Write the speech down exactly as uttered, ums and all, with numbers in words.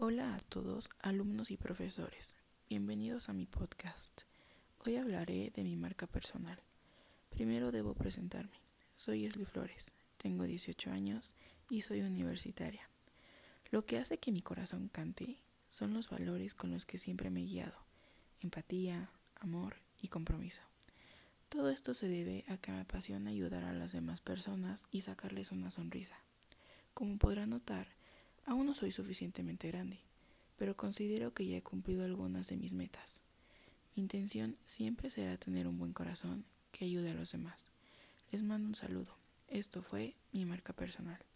Hola a todos, alumnos y profesores. Bienvenidos a mi podcast. Hoy hablaré de mi marca personal. Primero debo presentarme. Soy Esli Flores, tengo dieciocho años y soy universitaria. Lo que hace que mi corazón cante son los valores con los que siempre me he guiado: empatía, amor y compromiso. Todo esto se debe a que me apasiona ayudar a las demás personas y sacarles una sonrisa. Como podrán notar, aún no soy suficientemente grande, pero considero que ya he cumplido algunas de mis metas. Mi intención siempre será tener un buen corazón que ayude a los demás. Les mando un saludo. Esto fue mi marca personal.